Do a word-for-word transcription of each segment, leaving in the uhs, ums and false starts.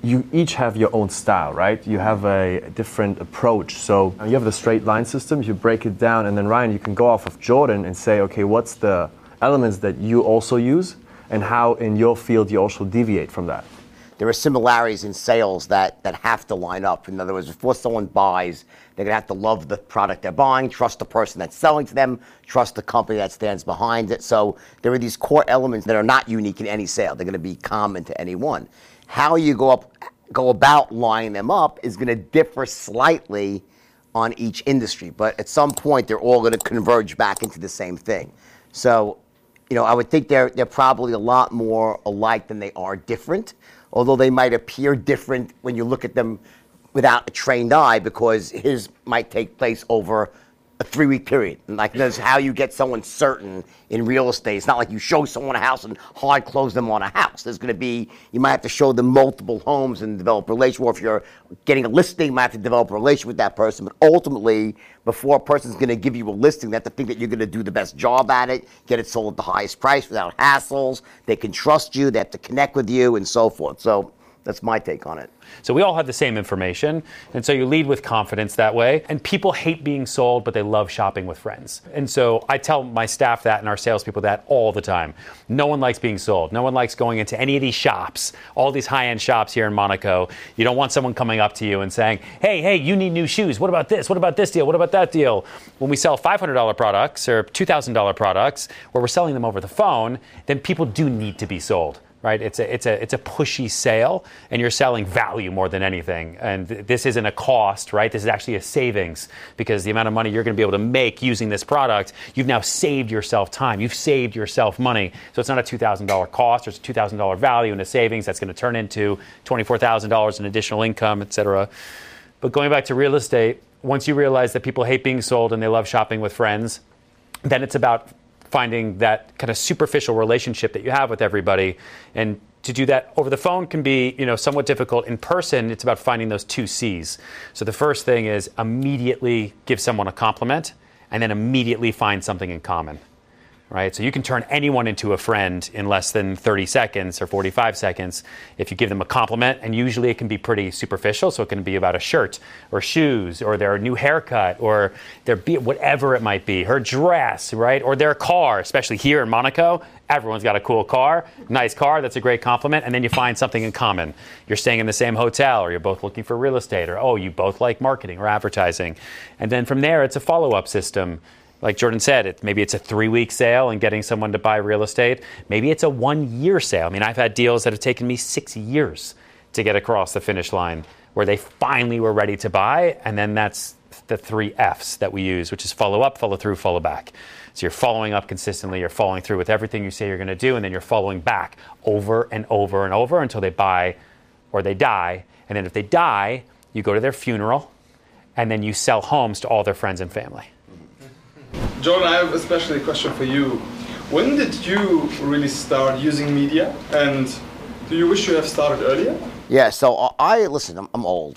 you each have your own style, right? You have a different approach. So you have the straight line system, you break it down, and then Ryan, you can go off of Jordan and say, okay, what's the elements that you also use and how in your field you also deviate from that? There are similarities in sales that, that have to line up. In other words, before someone buys, they're gonna have to love the product they're buying, trust the person that's selling to them, trust the company that stands behind it. So there are these core elements that are not unique in any sale. They're gonna be common to any one. How you go up, go about lining them up is gonna differ slightly on each industry, but at some point they're all gonna converge back into the same thing. So, you know, I would think they're, they're probably a lot more alike than they are different, although they might appear different when you look at them without a trained eye, because his might take place over a three-week period. And like that's how you get someone certain in real estate. It's not like you show someone a house and hard close them on a house. There's going to be, you might have to show them multiple homes and develop a relation. Or if you're getting a listing, you might have to develop a relation with that person. But ultimately, before a person's going to give you a listing, they have to think that you're going to do the best job at it, get it sold at the highest price without hassles. They can trust you. They have to connect with you and so forth. So that's my take on it. So we all have the same information, and so you lead with confidence that way. And people hate being sold, but they love shopping with friends. And so I tell my staff that and our salespeople that all the time. No one likes being sold. No one likes going into any of these shops, all these high-end shops here in Monaco. You don't want someone coming up to you and saying, hey, hey, you need new shoes. What about this? What about this deal? What about that deal? When we sell five hundred dollars products or two thousand dollars products, where we're selling them over the phone, then people do need to be sold. Right, it's a it's a it's a pushy sale, and you're selling value more than anything. And th- this isn't a cost, right? This is actually a savings, because the amount of money you're going to be able to make using this product, you've now saved yourself time. You've saved yourself money. So it's not a two thousand dollars cost. It's a two thousand dollars value and a savings that's going to turn into twenty-four thousand dollars in additional income, et cetera. But going back to real estate, once you realize that people hate being sold and they love shopping with friends, then it's about finding that kind of superficial relationship that you have with everybody. And to do that over the phone can be, you know, somewhat difficult. In person, it's about finding those two C's. So the first thing is immediately give someone a compliment and then immediately find something in common. Right? So you can turn anyone into a friend in less than thirty seconds or forty-five seconds if you give them a compliment, and usually it can be pretty superficial. So it can be about a shirt or shoes or their new haircut or their be- whatever it might be, her dress, right? Or their car, especially here in Monaco. Everyone's got a cool car, nice car, that's a great compliment, and then you find something in common. You're staying in the same hotel, or you're both looking for real estate, or oh, you both like marketing or advertising. And then from there, it's a follow-up system. Like Jordan said, it, maybe it's a three-week sale and getting someone to buy real estate. Maybe it's a one-year sale. I mean, I've had deals that have taken me six years to get across the finish line, where they finally were ready to buy, and then that's the three F's that we use, which is follow up, follow through, follow back. So you're following up consistently, you're following through with everything you say you're going to do, and then you're following back over and over and over until they buy or they die. And then if they die, you go to their funeral, and then you sell homes to all their friends and family. Jordan, I have especially a question for you. When did you really start using media, and do you wish you have started earlier? Yeah, so I, listen, I'm, I'm old.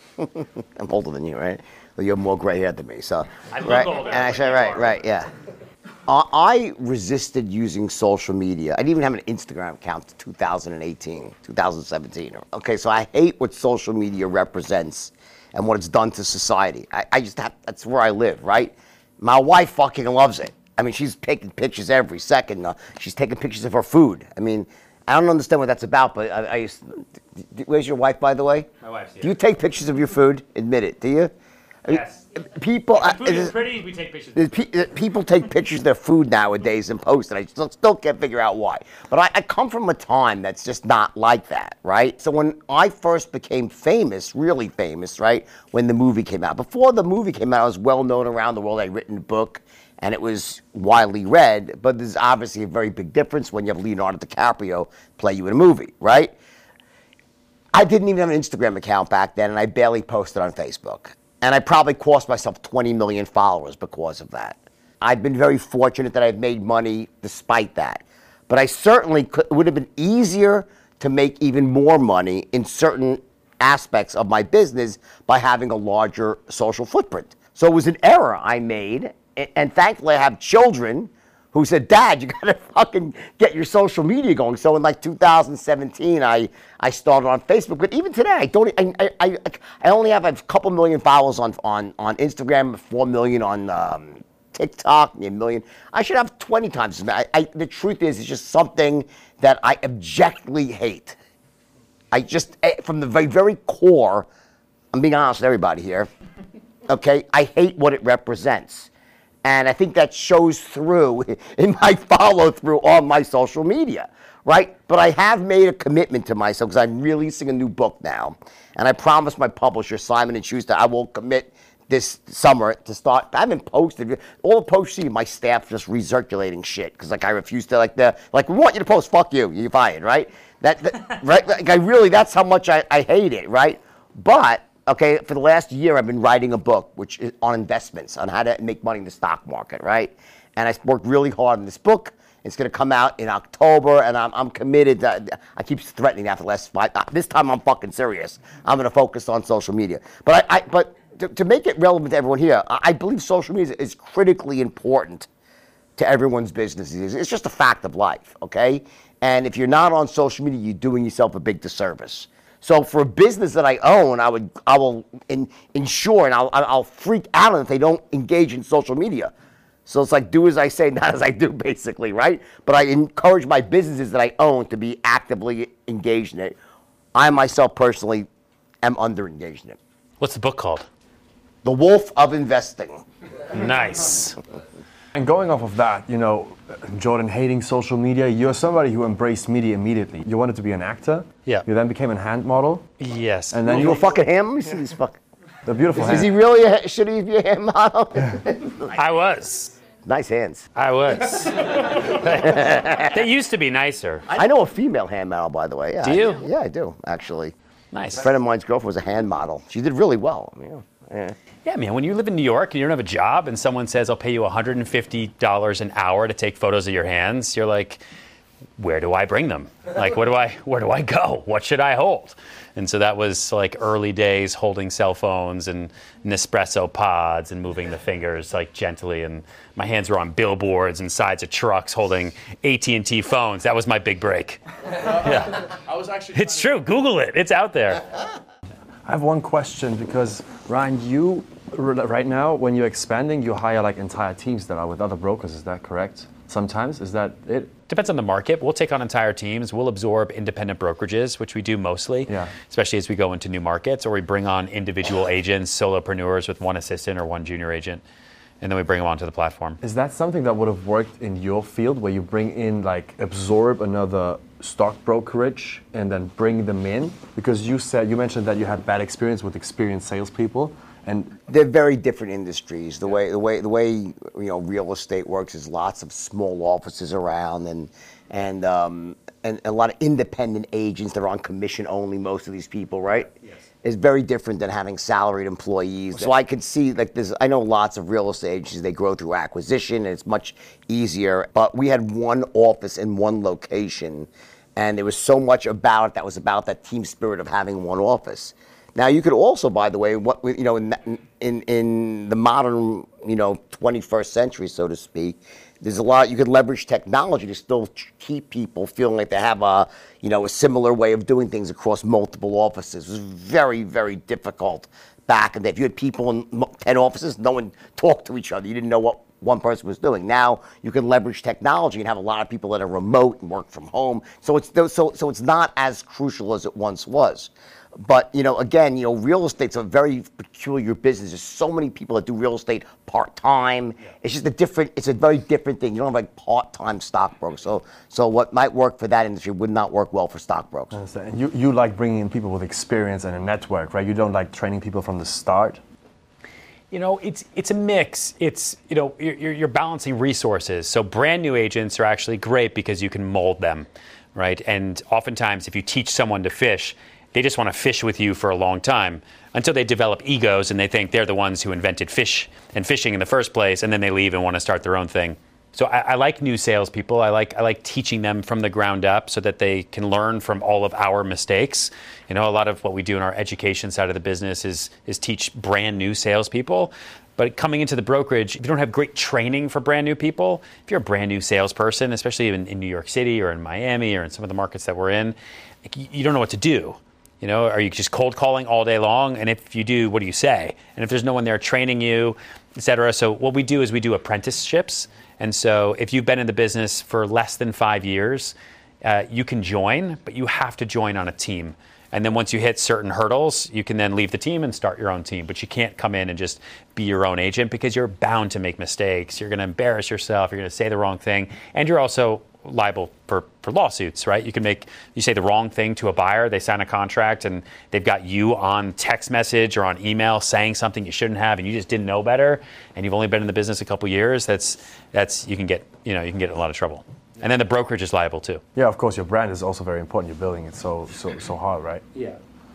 I'm older than you, right? Well, you have more gray hair than me, so. I look right? older. And I say, right, right, yeah. Uh, I resisted using social media. I didn't even have an Instagram account in two thousand eighteen, two thousand seventeen. Okay, so I hate what social media represents and what it's done to society. I, I just have, that's where I live, right? My wife fucking loves it. I mean, she's taking pictures every second. Uh, she's taking pictures of her food. I mean, I don't understand what that's about, but I, I used to, where's your wife, by the way? My wife's here. Do you take pictures of your food? Admit it, do you? Yes. People, If the food uh, is pretty, we take pictures. pe- people take pictures of their food nowadays and post it. I still, still can't figure out why. But I, I come from a time that's just not like that, right? So when I first became famous, really famous, right, when the movie came out. Before the movie came out, I was well known around the world. I'd written a book, and it was widely read. But there's obviously a very big difference when you have Leonardo DiCaprio play you in a movie, right? I didn't even have an Instagram account back then, and I barely posted on Facebook. And I probably cost myself twenty million followers because of that. I've been very fortunate that I've made money despite that. But I certainly could, it would have been easier to make even more money in certain aspects of my business by having a larger social footprint. So it was an error I made. And thankfully I have children who said, Dad, you gotta fucking get your social media going. So in like two thousand seventeen, I, I started on Facebook. But even today, I don't. I I, I only have a couple million followers on on, on Instagram, four million on um, TikTok, a million. I should have twenty times as many. I, I, the truth is, it's just something that I objectively hate. I just, from the very, very core, I'm being honest with everybody here, okay? I hate what it represents. And I think that shows through in my follow through on my social media, right? But I have made a commitment to myself because I'm releasing a new book now. And I promised my publisher, Simon and Schuster, I will commit this summer to start. I haven't posted. All the posts you see, my staff just recirculating shit because like I refuse to like the, like we want you to post, fuck you, you're fired, right? That, that right? Like I really, that's how much I, I hate it, right? But, okay, for the last year, I've been writing a book which is on investments, on how to make money in the stock market, right? And I worked really hard on this book. It's going to come out in October, and I'm, I'm committed. To, I keep threatening after the last five. This time, I'm fucking serious. I'm going to focus on social media. But I, I but to, to make it relevant to everyone here, I, I believe social media is critically important to everyone's businesses. It's just a fact of life, okay? And if you're not on social media, you're doing yourself a big disservice. So for a business that I own, I would, I will in, ensure, and I'll, I'll freak out if they don't engage in social media. So it's like do as I say, not as I do, basically, right? But I encourage my businesses that I own to be actively engaged in it. I myself personally am under engaged in it. What's the book called? The Wolf of Investing. Nice. And going off of that, you know, Jordan hating social media, you're somebody who embraced media immediately. You wanted to be an actor. Yeah. You then became a hand model. Yes. And then You you a fucking ham? Let me see these fucking. the beautiful Is hand. he really a, should he be a ham model? I was. Nice hands. I was. They used to be nicer. I know a female hand model, by the way. Yeah, Do you? I, yeah, I do, actually. Nice. A friend of mine's girlfriend was a hand model. She did really well. I mean, yeah. Yeah, man, when you live in New York and you don't have a job and someone says, I'll pay you one hundred fifty dollars an hour to take photos of your hands, you're like, where do I bring them? Like, where do I, where do I go? What should I hold? And so that was like early days holding cell phones and Nespresso pods and moving the fingers like gently. And my hands were on billboards and sides of trucks holding A T and T phones. That was my big break. Yeah. I was actually. It's true. Google it. It's out there. I have one question because, Ryan, you, right now, when you're expanding, you hire like entire teams that are with other brokers. Is that correct? Sometimes? Is that it? Depends on the market. We'll take on entire teams. We'll absorb independent brokerages, which we do mostly, Yeah. especially as we go into new markets, or we bring on individual agents, solopreneurs with one assistant or one junior agent, and then we bring them onto the platform. Is that something that would have worked in your field where you bring in, like, absorb another stock brokerage and then bring them in? Because you said, you mentioned that you had bad experience with experienced salespeople. And They're very different industries. The way the way the way you know real estate works is lots of small offices around and and um, and a lot of independent agents that are on commission only. Most of these people, right? Yes. Is very different than having salaried employees. So I could see like this. I know lots of real estate agencies. They grow through acquisition, and it's much easier. But we had one office in one location, and there was so much about it that was about that team spirit of having one office. Now you could also, by the way, what you know, in in in the modern, you know, twenty-first century, so to speak, there's a lot you could leverage technology to still keep people feeling like they have a, you know, a similar way of doing things across multiple offices. It was very, very difficult back in the day. If you had people in ten offices, no one talked to each other. You didn't know what one person was doing. Now you can leverage technology and have a lot of people that are remote and work from home. So it's so so it's not as crucial as it once was. But, you know, again, you know, real estate's a very peculiar business. There's so many people that do real estate part-time. Yeah. It's just a different, it's a very different thing. You don't have like part-time stockbrokers. So so what might work for that industry would not work well for stockbrokers. and you, you like bringing in people with experience and a network, right? You don't like training people from the start? You know, it's it's a mix. It's, you know, you're, you're balancing resources. So brand new agents are actually great because you can mold them, right? And oftentimes if you teach someone to fish, they just want to fish with you for a long time until they develop egos and they think they're the ones who invented fish and fishing in the first place, and then they leave and want to start their own thing. So I, I like new salespeople. I like I like teaching them from the ground up so that they can learn from all of our mistakes. You know, a lot of what we do in our education side of the business is is teach brand new salespeople. But coming into the brokerage, if you don't have great training for brand new people, if you're a brand new salesperson, especially in, in New York City or in Miami or in some of the markets that we're in, like, you, you don't know what to do. You know, are you just cold calling all day long? And if you do, what do you say? And if there's no one there training you, et cetera. So what we do is we do apprenticeships. And so if you've been in the business for less than five years, uh, you can join, but you have to join on a team. And then once you hit certain hurdles, you can then leave the team and start your own team. But you can't come in and just be your own agent because you're bound to make mistakes. You're going to embarrass yourself. You're going to say the wrong thing. And you're also liable for, for lawsuits, right? You can make, you say the wrong thing to a buyer, they sign a contract and they've got you on text message or on email saying something you shouldn't have and you just didn't know better and you've only been in the business a couple years, that's, that's, you can get, you know, you can get in a lot of trouble. And then the brokerage is liable too. Yeah, of course, your brand is also very important. You're building it so so so hard, right? Yeah.